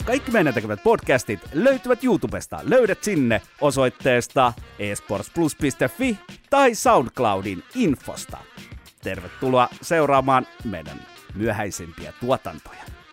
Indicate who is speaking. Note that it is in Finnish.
Speaker 1: Kaikki meidän tekemät podcastit löytyvät YouTubesta. Löydät sinne osoitteesta esportsplus.fi tai SoundCloudin infosta. Tervetuloa seuraamaan meidän myöhäisempiä tuotantoja.